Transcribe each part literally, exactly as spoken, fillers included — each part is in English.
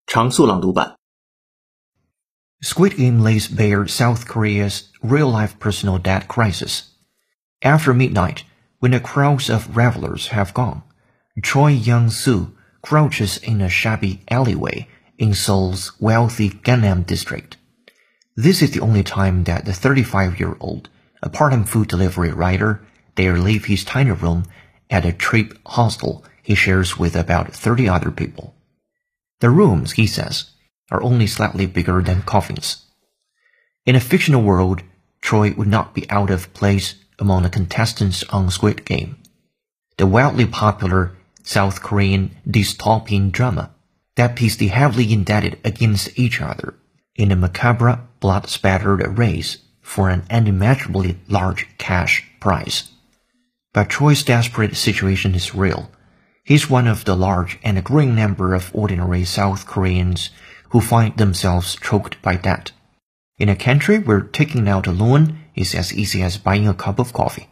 常速朗读版 Squid Game lays bare South Korea's real-life personal debt crisis. After midnight, when the crowds of revelers have gone, Choi Young-soo crouches in a shabby alleyway in Seoul's wealthy Gangnam district. This is the only time that the thirty-five-year-old, a part-time food delivery rider, dare leave his tiny room at a cheap hostel he shares with about thirty other people. The rooms, he says, are only slightly bigger than coffins. In a fictional world, Choi would not be out of place among the contestants on Squid Game, the wildly popular South Korean dystopian drama that pits the heavily indebted against each other in a macabre, blood-spattered race for an unimaginably large cash prize. But Choi's desperate situation is real. He's one of the large and growing number of ordinary South Koreans who find themselves choked by debt, in a country where taking out a loan is as easy as buying a cup of coffee.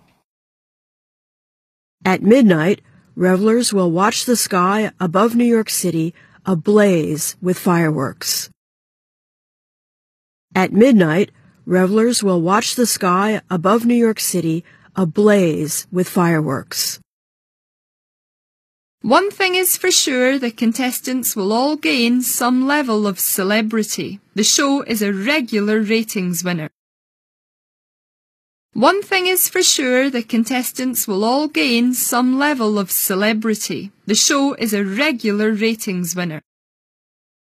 At midnight, revelers will watch the sky above New York City ablaze with fireworks. At midnight, revelers will watch the sky above New York City ablaze with fireworks. One thing is for sure, the contestants will all gain some level of celebrity. The show is a regular ratings winner. One thing is for sure, the contestants will all gain some level of celebrity. The show is a regular ratings winner.